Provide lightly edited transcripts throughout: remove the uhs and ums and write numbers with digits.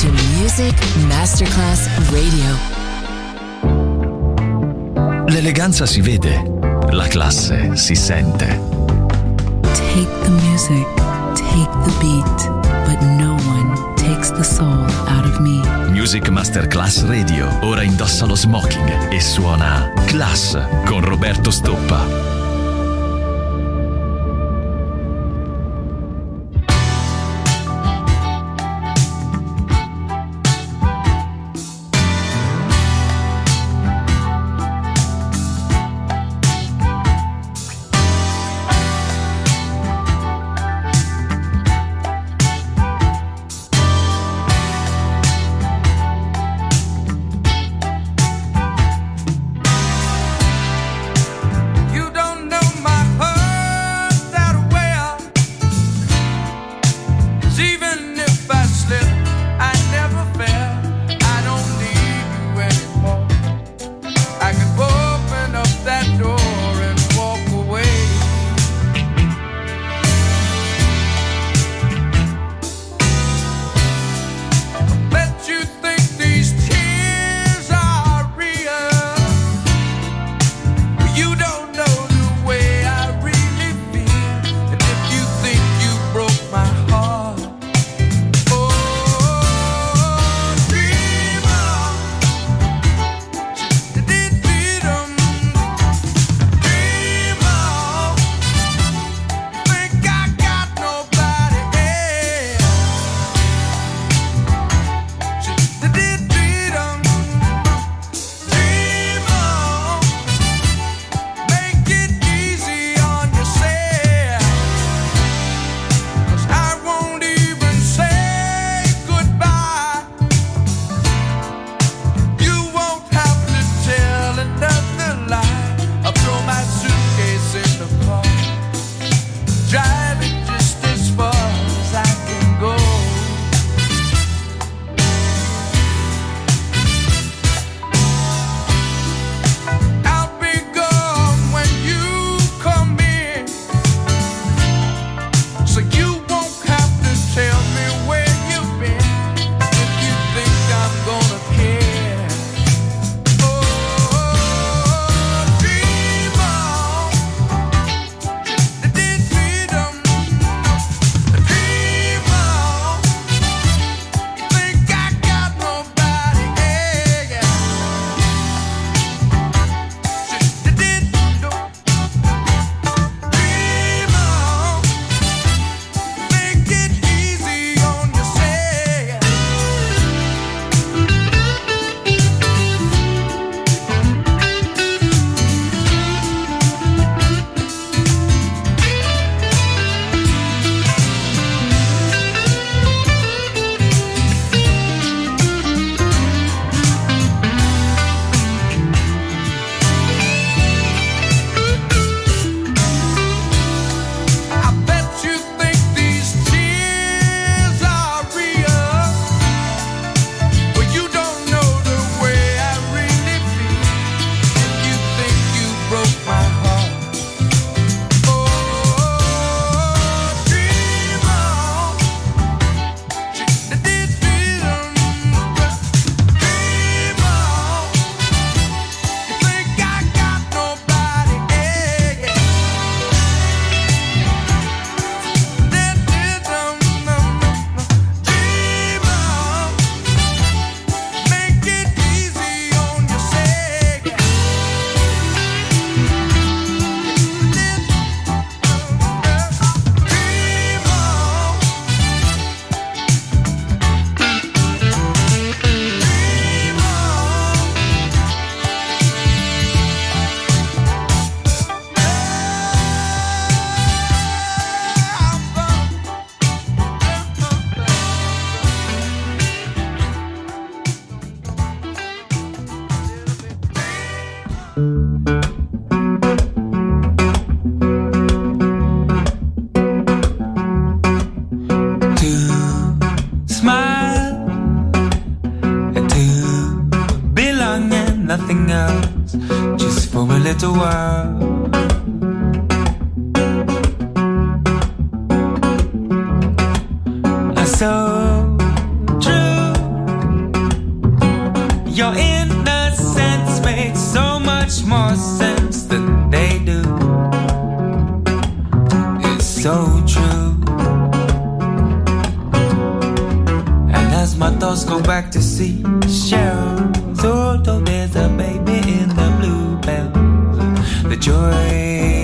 to Music Masterclass Radio. L'eleganza si vede, la classe si sente. Take the music, take the beat, but no one takes the soul out of me. Music Masterclass Radio ora indossa lo smoking e suona Class con Roberto Stoppa. little while. I so true my thoughts go back to seashells, although there's a baby in the bluebells, the joy.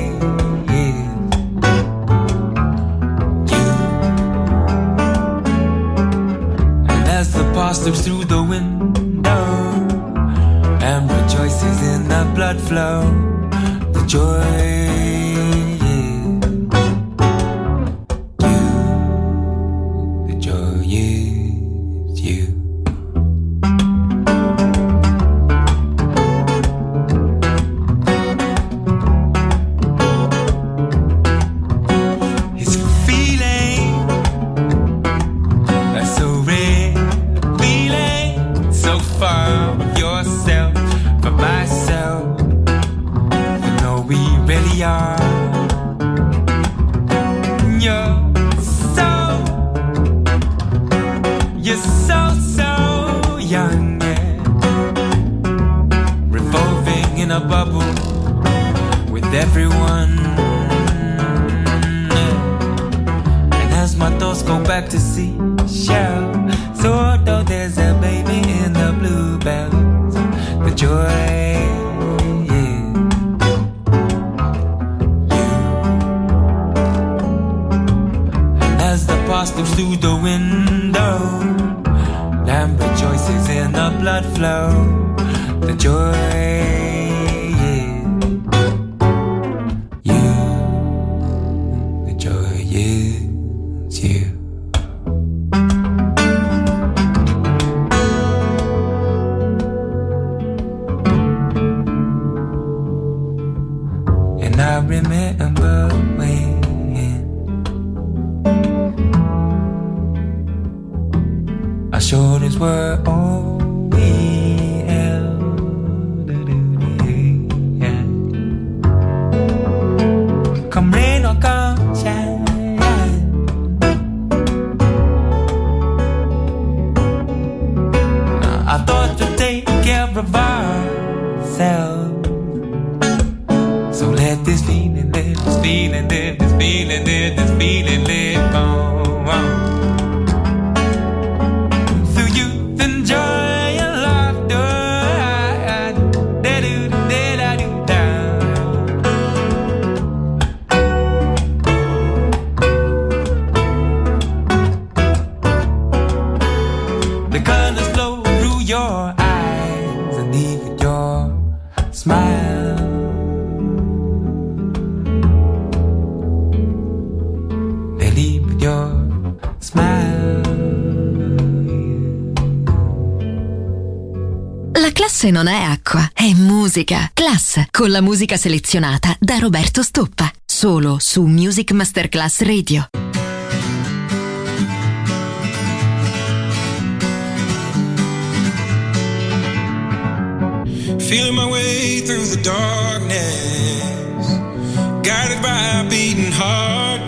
Slips through the window and rejoices in the blood flow, the joy. Classe non è acqua, è musica. Class, con la musica selezionata da Roberto Stoppa. Solo su Music Masterclass Radio. Feeling my way through the darkness, guided by a beating heart.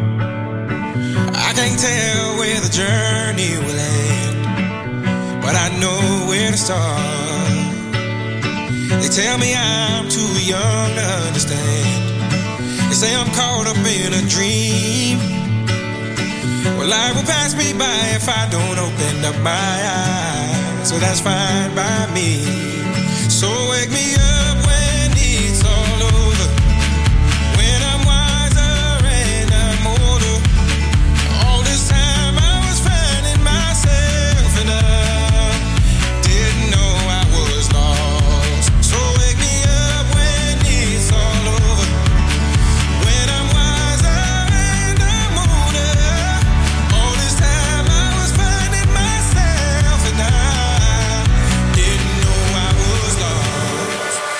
I can't tell where the journey will end, but I know where to start. They tell me I'm too young to understand. They say I'm caught up in a dream. Well, life will pass me by if I don't open up my eyes. So that's fine by me. So wake me up when it's all over, when I'm wiser and I'm older. All this time I was finding myself and I didn't know I was lost. So wake me up when it's all over, when I'm wiser and I'm older. All this time I was finding myself and I didn't know I was lost.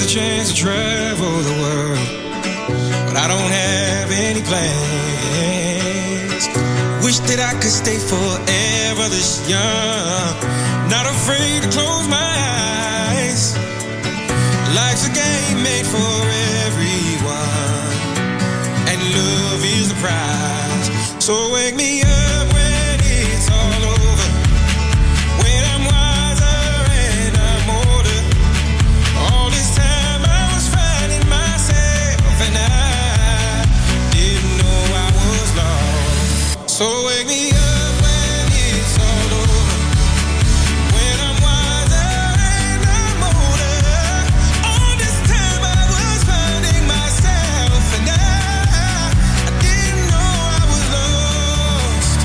chance to travel the world, but I don't have any plans. Wish that I could stay forever this young, not afraid to close my eyes. Life's a game made for everyone, and love is the prize. So wake me up when it's all over, when I'm wiser and I'm older. All this time I was finding myself, and I didn't know I was lost. So wake me up when it's all over, when I'm wiser and I'm older. All this time I was finding myself, and I didn't know I was lost.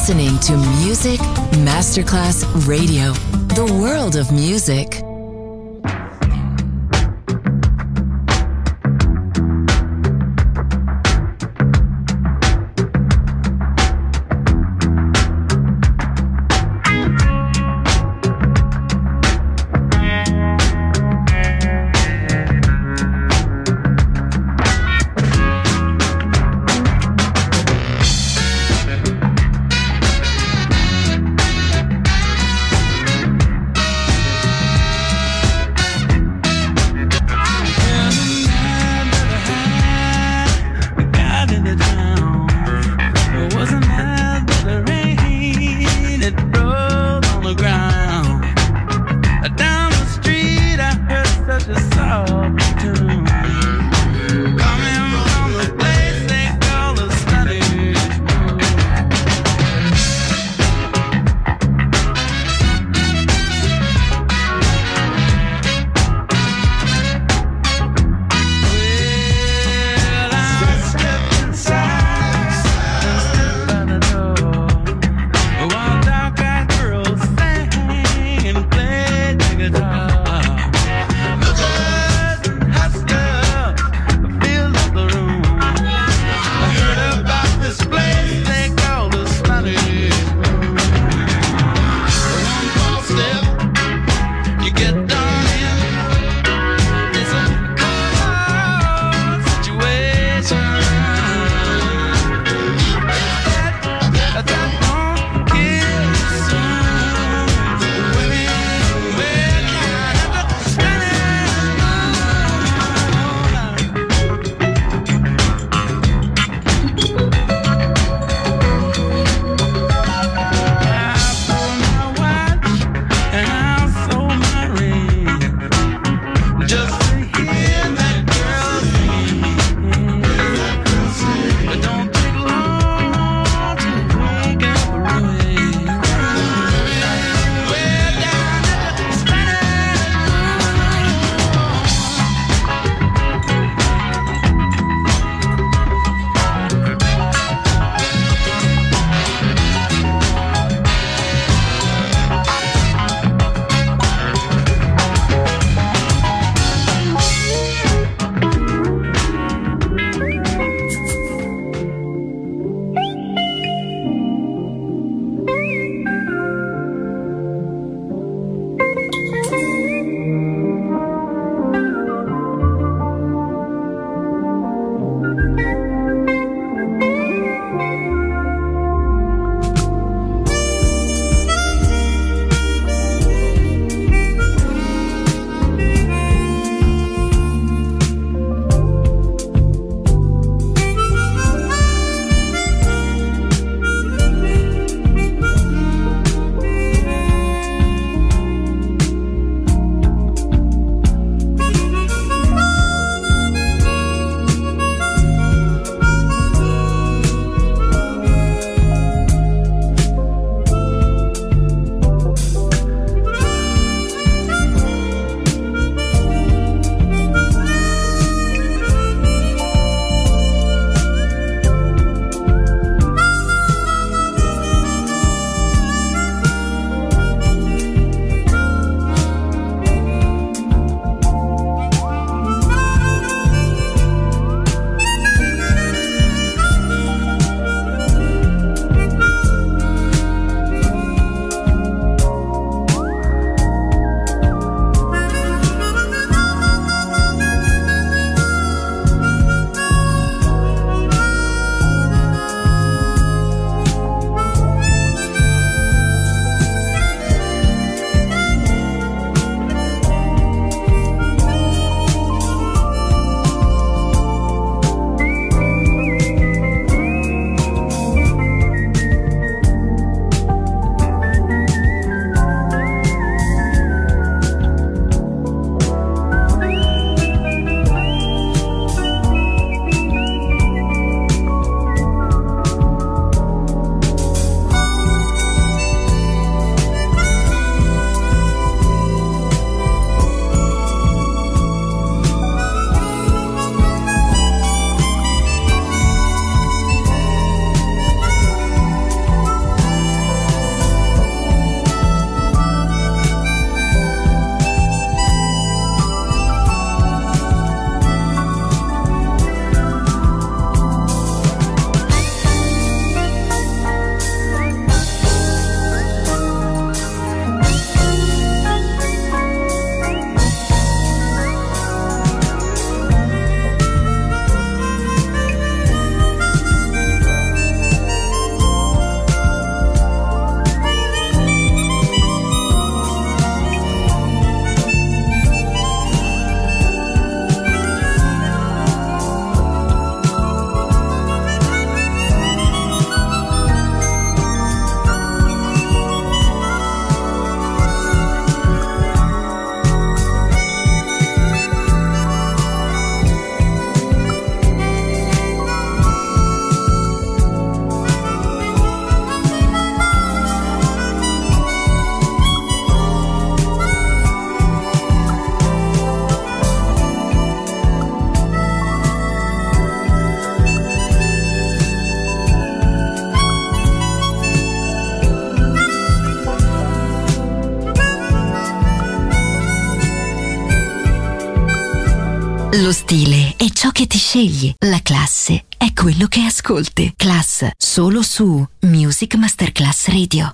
listening to Music Masterclass Radio, the world of music. Lo stile è ciò che ti scegli. La classe è quello che ascolti. Class, solo su Music Masterclass Radio.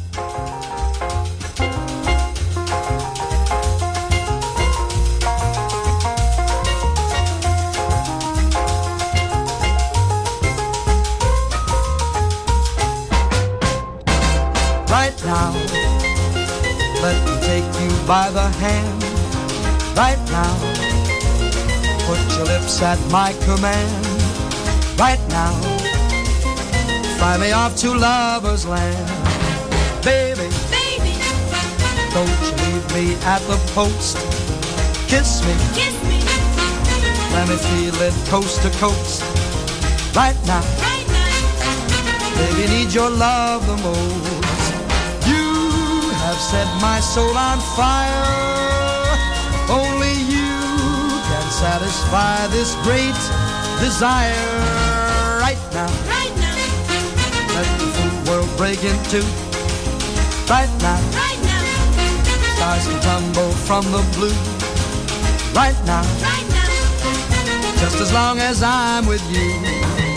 Right now, let me take you by the hand. Right now, put your lips at my command. Right now, fly me off to lover's land. Baby, baby, don't you leave me at the post. Kiss me, let me feel it coast to coast. Right now, baby, need your love the most. You have set my soul on fire. Only you can satisfy this great desire. Right now, let the full world break in two. Right now, stars can tumble from the blue. Right now, just as long as I'm with you.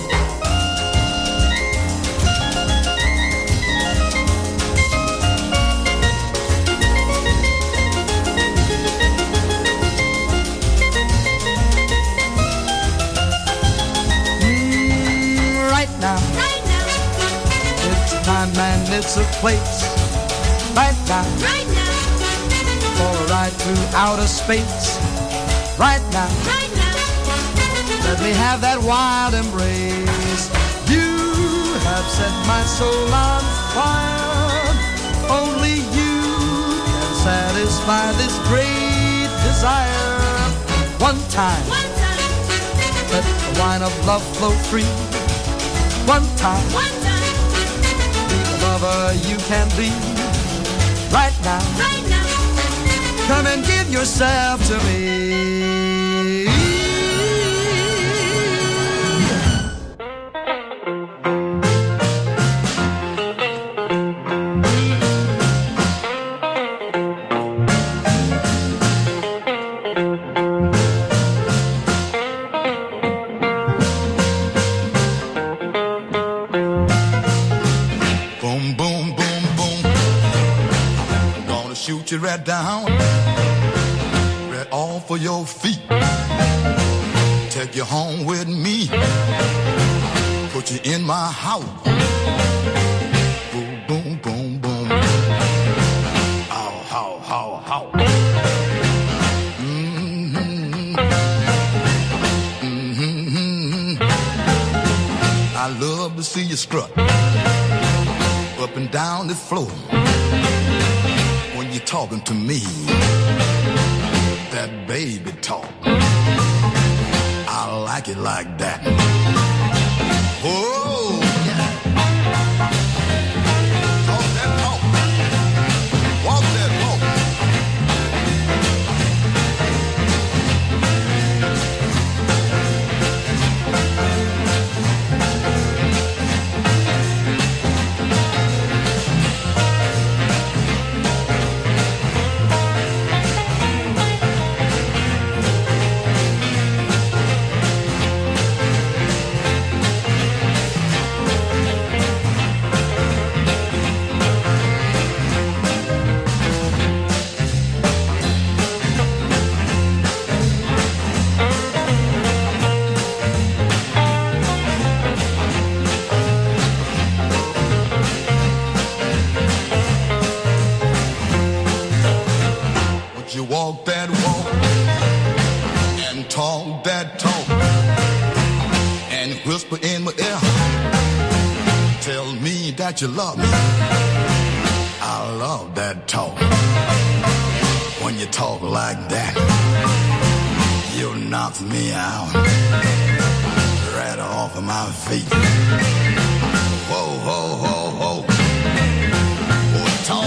It's a time and it's a place. Right now, for a ride through outer space. Right now, let me have that wild embrace. You have set my soul on fire. Only you can satisfy this great desire. One time, let the wine of love flow free. One time, be the lover you can be. Right now, come and give yourself to me. You right down, right off of your feet. Take you home with me, put you in my house. Boom, boom, boom, boom. Ow, how, how, how. Mm-hmm. Mm-hmm. I love to see you strut up and down the floor. You're talking to me, that baby talk. I like it like that. Oh, yeah. Talk that talk. Walk that walk. Walk that walk and talk that talk and whisper in my ear. Tell me that you love me. I love that talk. When you talk like that, you knock me out right off of my feet. Whoa, whoa, whoa, whoa. Oh, talk.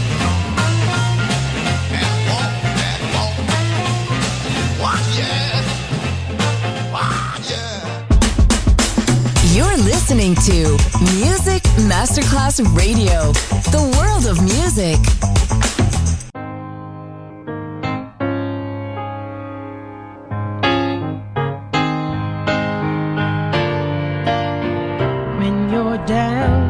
You're listening to Music Masterclass Radio, the world of music. down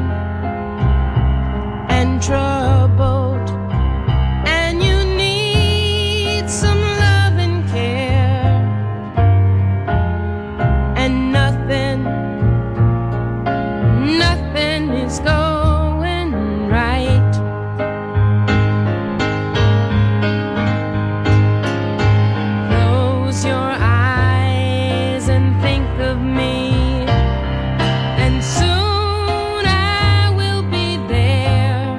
and troubled, and you need some love and care, and nothing is going right. Close your eyes and think of me, and soon I will be there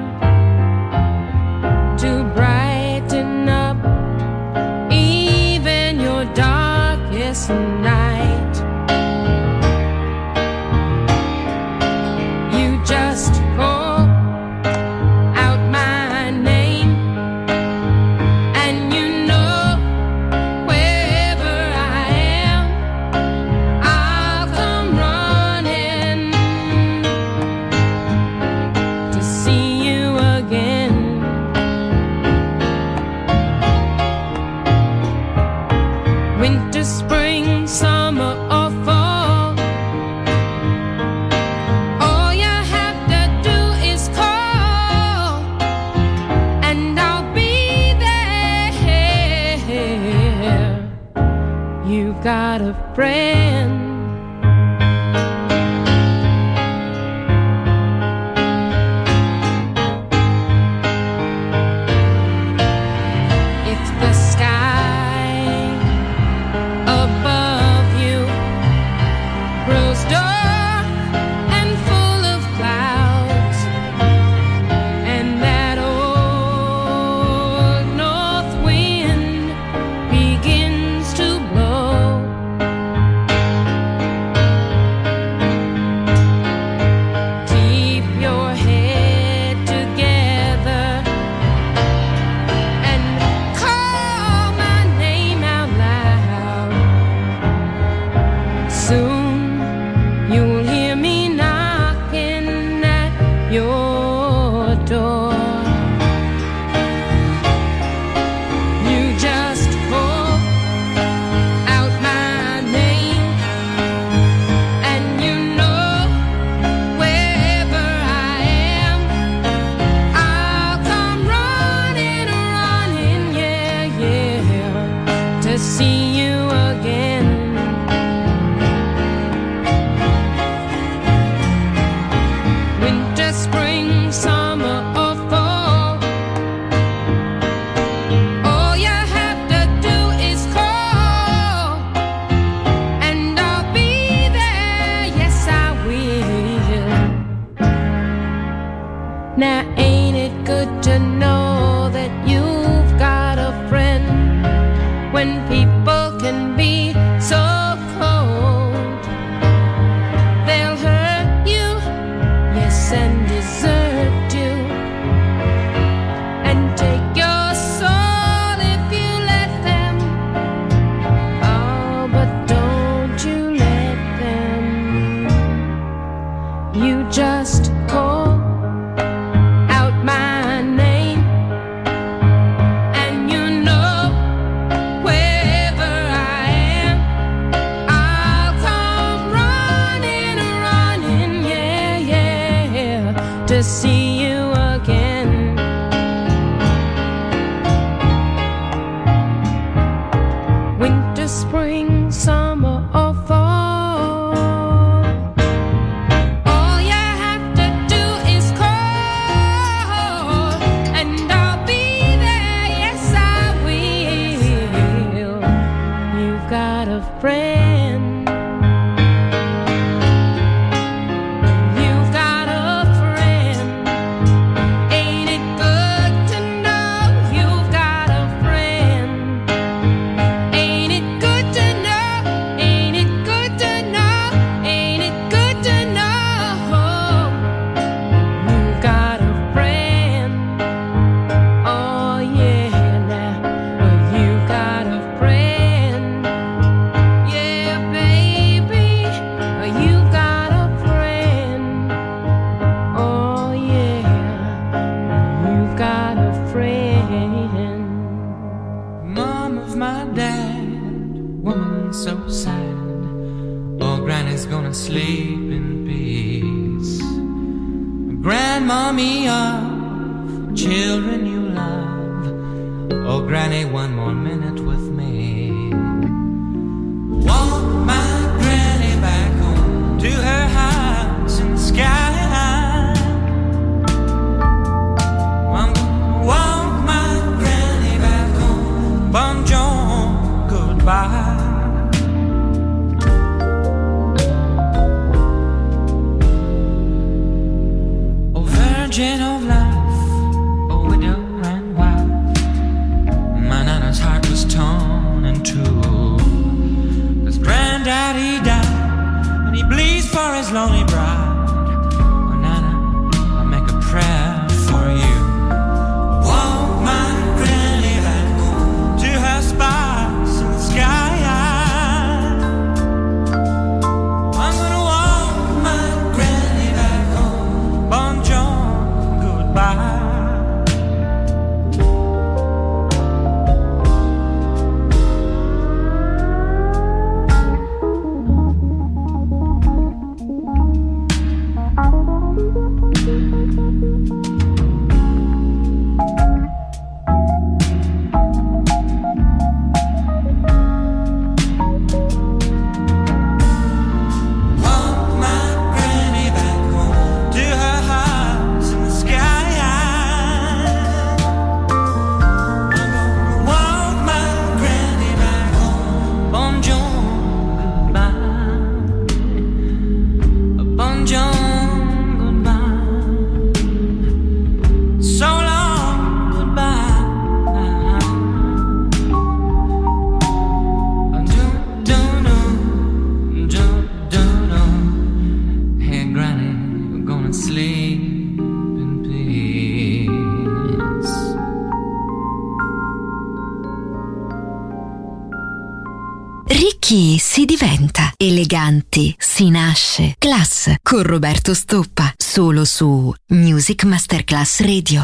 to brighten up even your darkest night. You just call out my name, and you know wherever I am, I'll come running to see you again. Winter, spring, summer, or fall, all you have to do is call, and I'll be there. You got a friend. If the sky above you grows dark and full of clouds, and that old north wind begins to blow, keep your head together and call my name out loud. Soon you'll hear me knocking at your door. You just call out my name, and you know wherever I am, I'll come running, yeah, to see you again. Winter, spring, summer, or fall, all you have to do is call, and I'll be there, yes I will. Now ain't it good to know that you've got a friend when people can be so cold? They'll hurt you, yes, and desert you, and take your soul if you let them. Oh, but don't you let them. You just call out my name, and you know wherever I am, I'll come running, yeah, to see you again. Winter, spring, summer, or fall, all you have to do is call, and I'll be there, yes I will. You've got a friend. You've got a friend. Ain't it good to know you've got a friend? Ain't it good to know? Ain't it good to know? Ain't it good to know? You've got a friend. Oh yeah, now you've got a friend. Yeah, baby, you've got a friend. Oh yeah, you've got a friend. Mom of my dad, woman so sad. Oh, Granny's gonna sleep in peace. grandmommy of children you love. Oh, granny, one more minute with me. Walk my granny back home to her house in the sky. I'm gonna walk my granny back home. Bonjour, goodbye. Virgin of life, a widow and wife. My nana's heart was torn in two. 'Cause granddaddy died, and he bleeds for his lonely bride. Oh, Nana, I'll make a prayer for you. Walk my granny back home to her spots in the sky. I'm gonna walk my granny back home. Bonjour. Ricchi si diventa, eleganti si nasce. Class con Roberto Stoppa, solo su Music Masterclass Radio.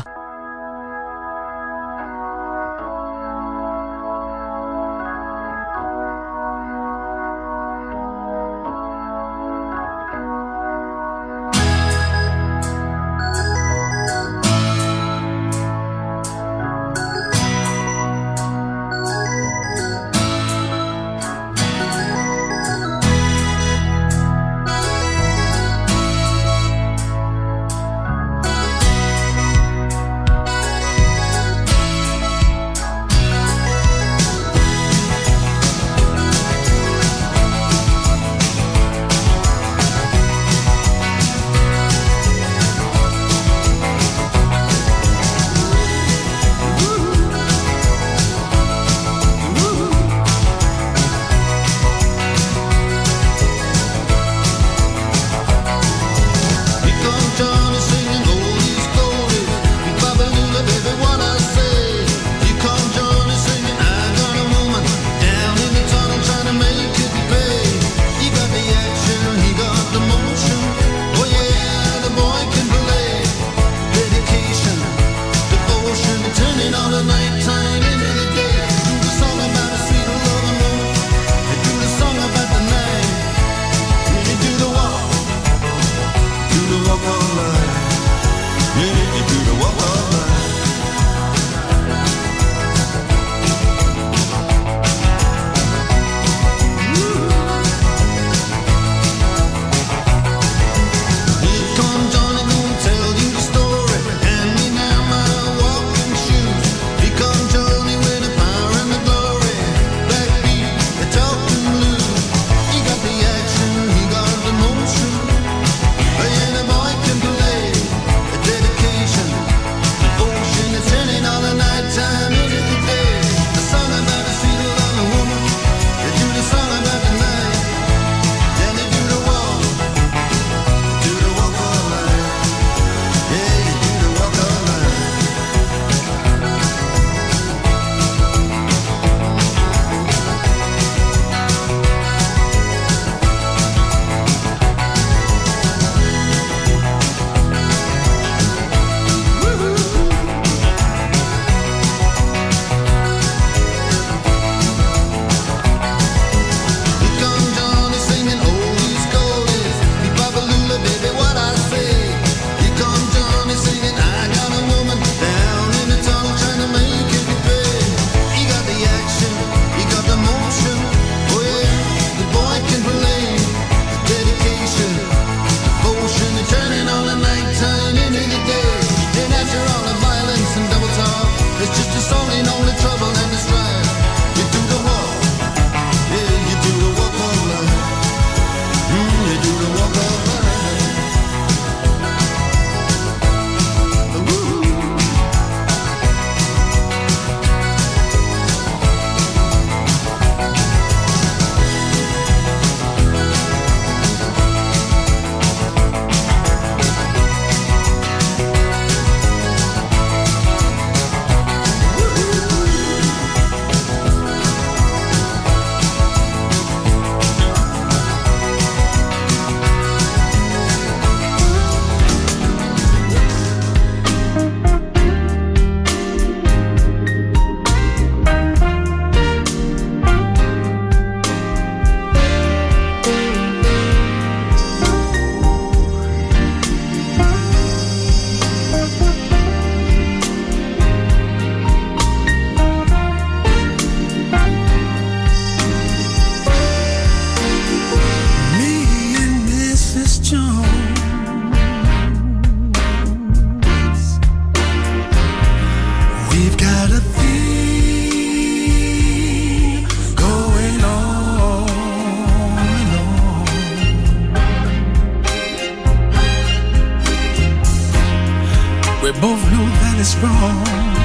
both know that it's wrong,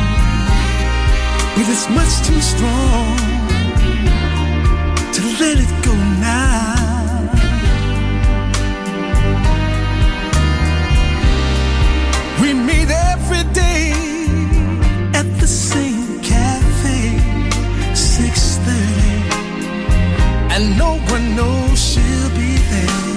but it's much too strong to let it go now. We meet every day at the same cafe, 6:30, and no one knows she'll be there.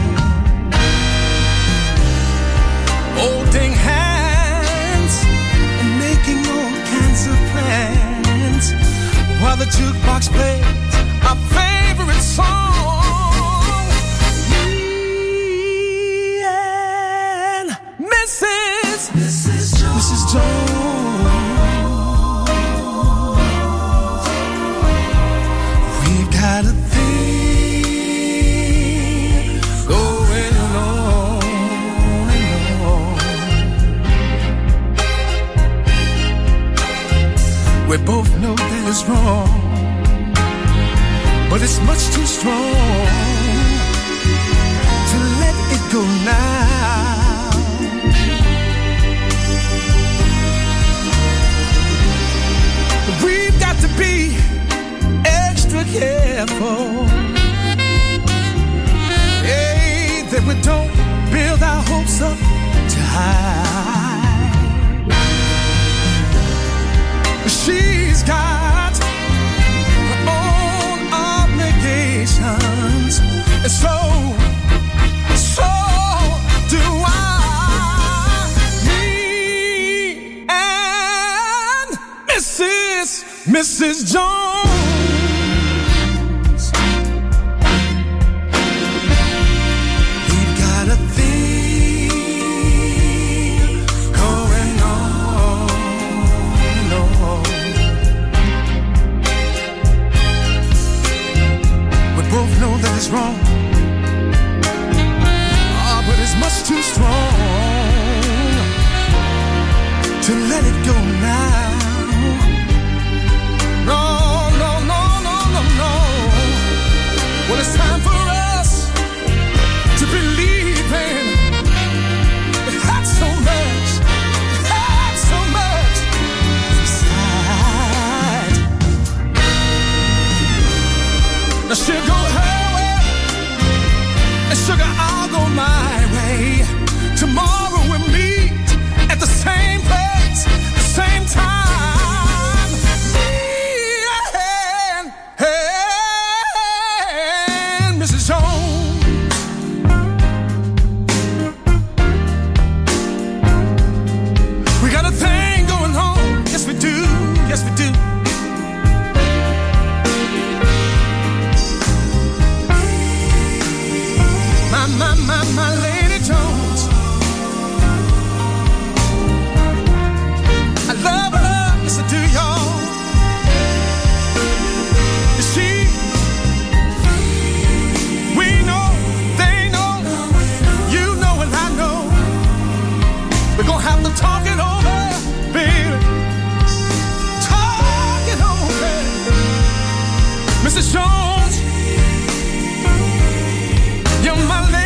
Holding hands and making all kinds of plans while the jukebox plays our favorite song. Me and Mrs. Jones, we've got a thing going on and on. We both know that it's wrong, but it's much too strong to let it go now. We've got to be extra careful, hey, that we don't build our hopes up too high. She's got her own obligations, and so do I. Me and Mrs. Jones, we've got a thing going on and on. We both know that it's wrong, but it's much too strong to let it go now. No, no, no, no, no, no. Well, it's time for us to believe in. It had so much, inside. Now she'll go her way, and sugar, I'll go my way. Tomorrow we'll meet at the same place, the same time. Mrs. Jones, we got a thing going on. Yes, we do. Yes, we do. My Lady Jones, I love her, yes I do, y'all. You see, we know, they know, you know and I know. We're gonna have to talk it over, baby. Talk it over, Mrs. Jones. You're my lady.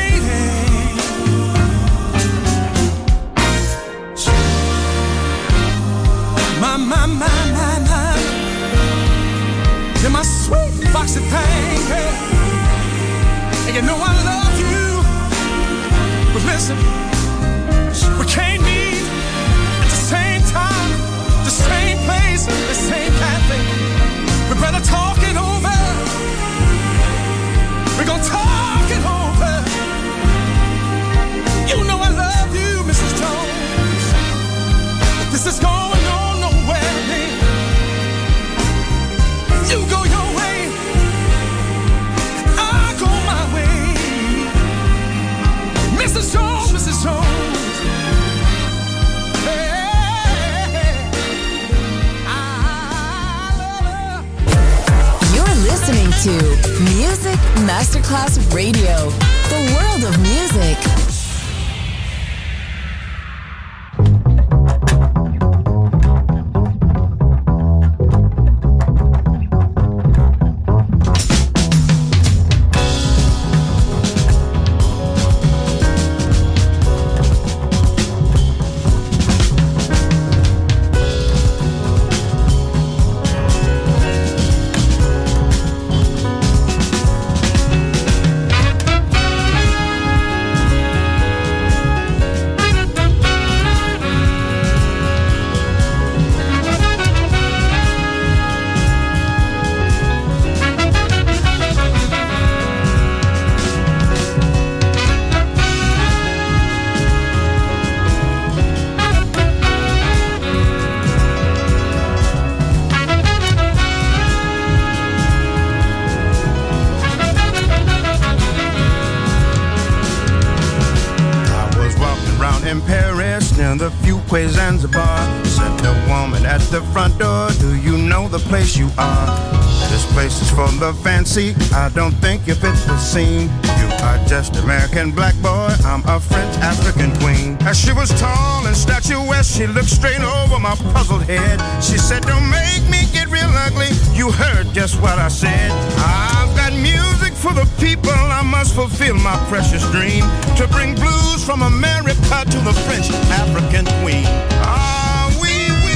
My. You're my sweet foxy thing, hey. And you know I love you. But listen, we can't meet at the same time, the same place, the same cafe. We better talk it over. We're gonna talk it over. You know I love you, Mrs. Jones. But this is going on nowhere, baby. You go your way, I go my way. Mrs. Jones, Mrs. Jones. Hey, I love her. You're listening to Music Masterclass Radio, the world of music. in Paris near the Fuquay Zanzibar. Said the woman at the front door, do you know the place you are? This place is for the fancy, I don't think you fit the scene. You are just American black boy, I'm a French African queen. As she was tall and statuesque, she looked straight over my puzzled head. She said, don't make me get real ugly, you heard just what I said. I've got music for the people, I must fulfill my precious dream to bring blues from America to the French African queen. Ah, oui,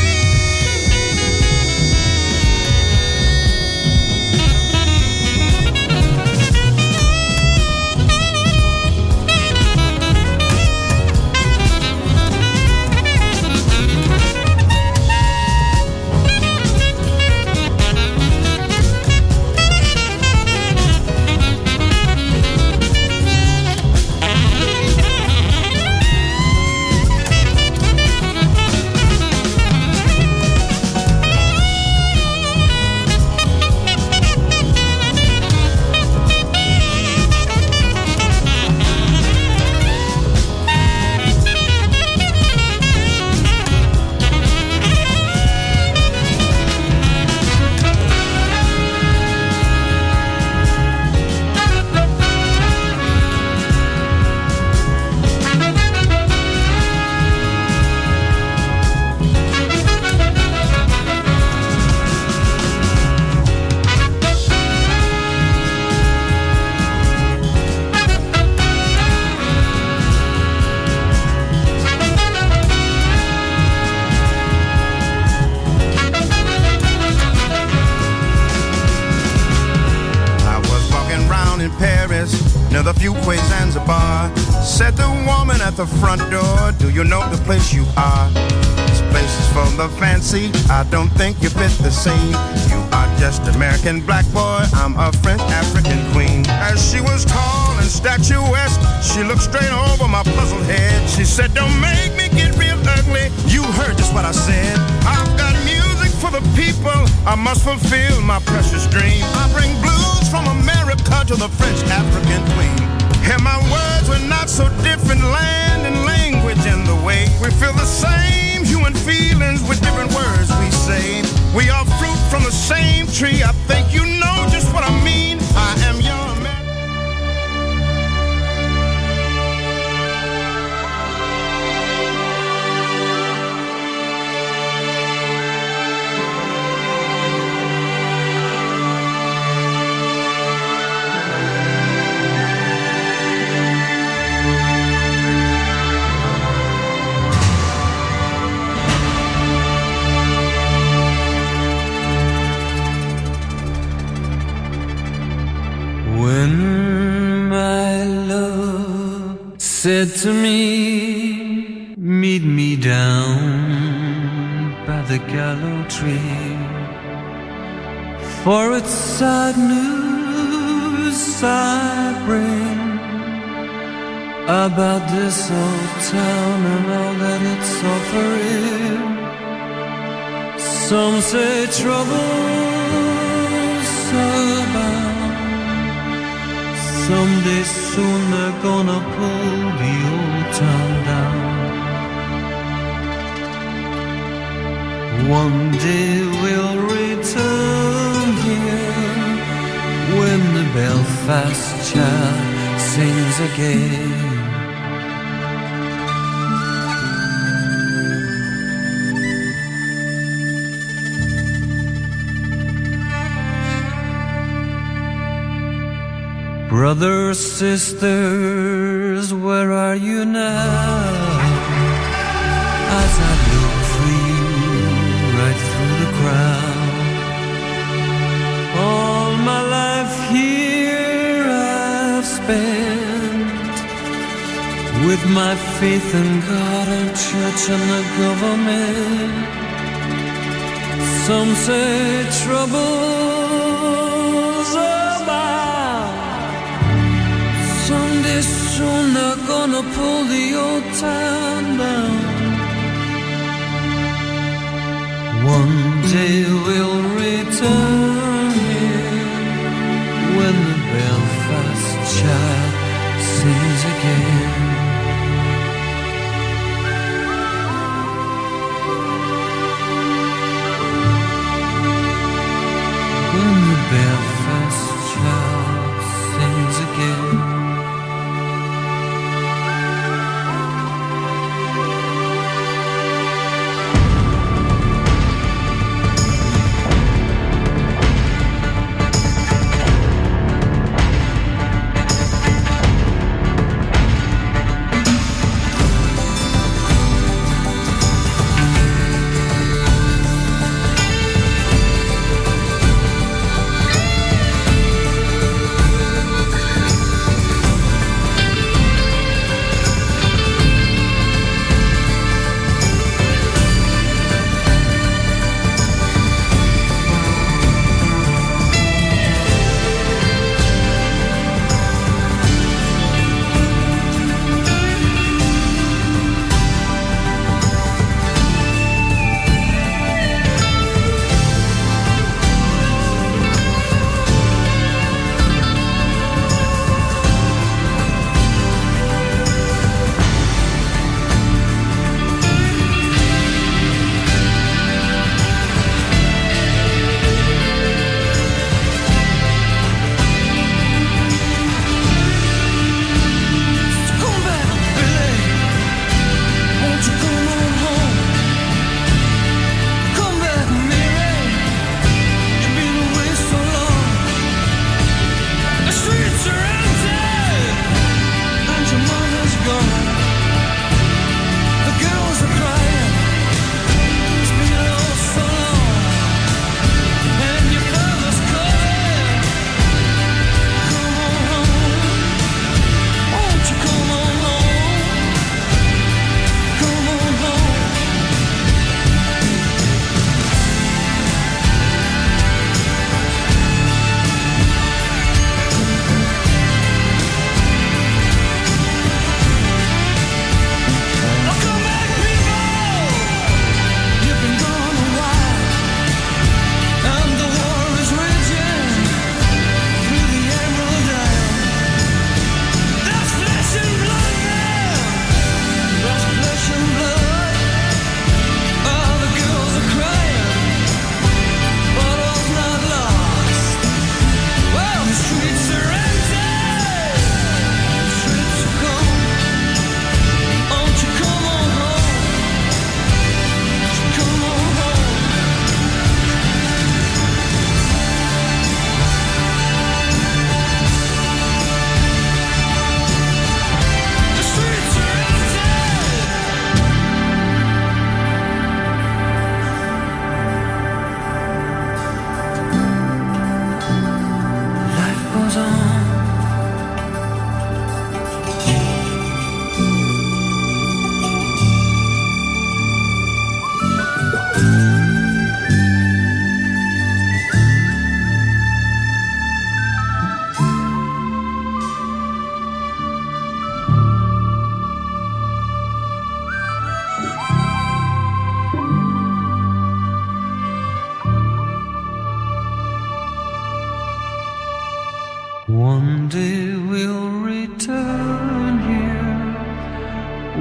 the front door, do you know the place you are? This place is for the fancy, I don't think you fit the scene. You are just American black boy, I'm a French African queen. As she was tall and statuesque, she looked straight over my puzzled head. She said, don't make me get real ugly, you heard just what I said. I've got music for the people, I must fulfill my precious dream. I bring blues from America to the French African queen. And my words were not so different, land and language and the way we feel the same human feelings with different words we say. We are fruit from the same tree, I think you know just what I mean. I am your said to me, meet me down by the gallows tree, for it's sad news I bring about this old town and all that it's offering. Some say trouble's about, someday soon they're gonna pull the old town down. One day we'll return here when the Belfast child sings again. Brothers, sisters, where are you now? As I look for you right through the crowd. All my life here I've spent with my faith in God and church and the government. Some say trouble's about, someday soon they're gonna pull the old town down. One day we'll return here when the Belfast child sings again.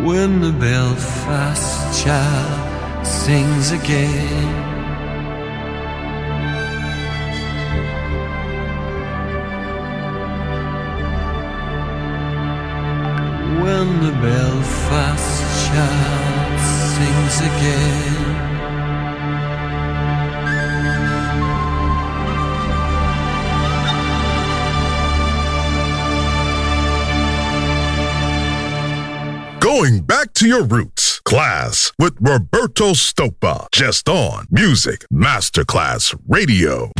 when the Belfast child sings again. When the Belfast child sings again. Going back to your roots. Class with Roberto Stoppa. Just on Music Masterclass Radio.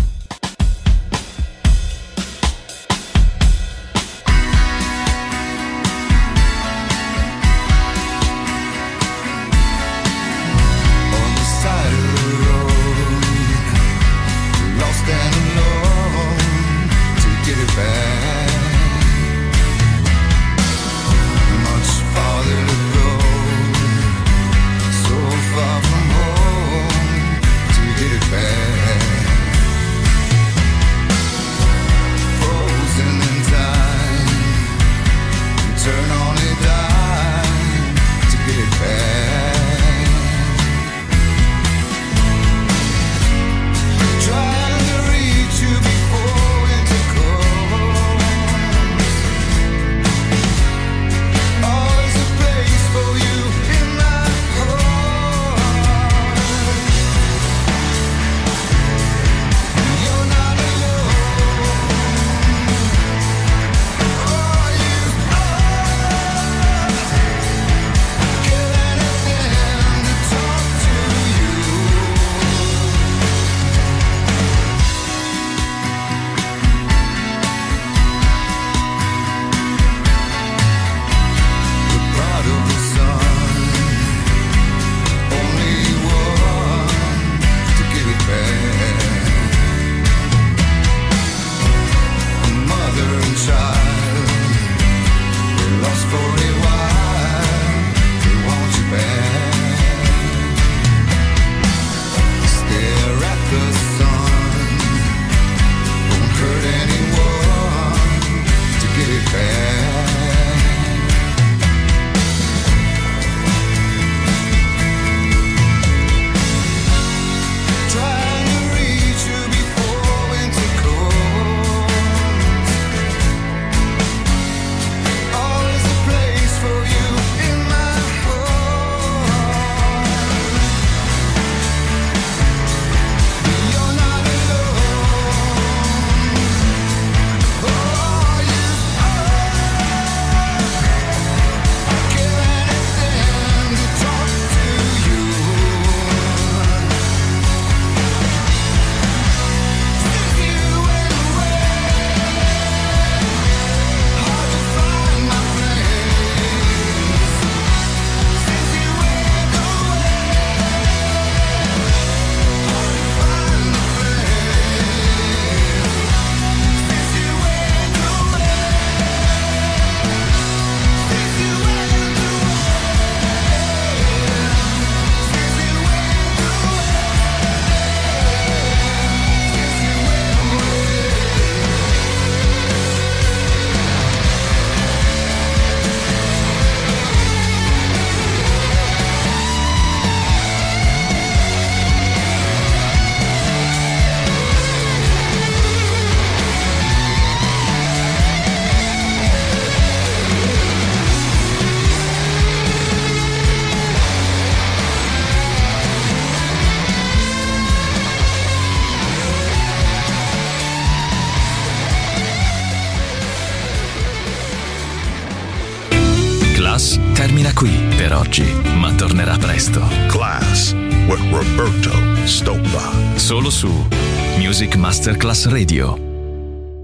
Termina qui per oggi, ma tornerà presto. Class with Roberto Stoppa. Solo su Music Masterclass Radio.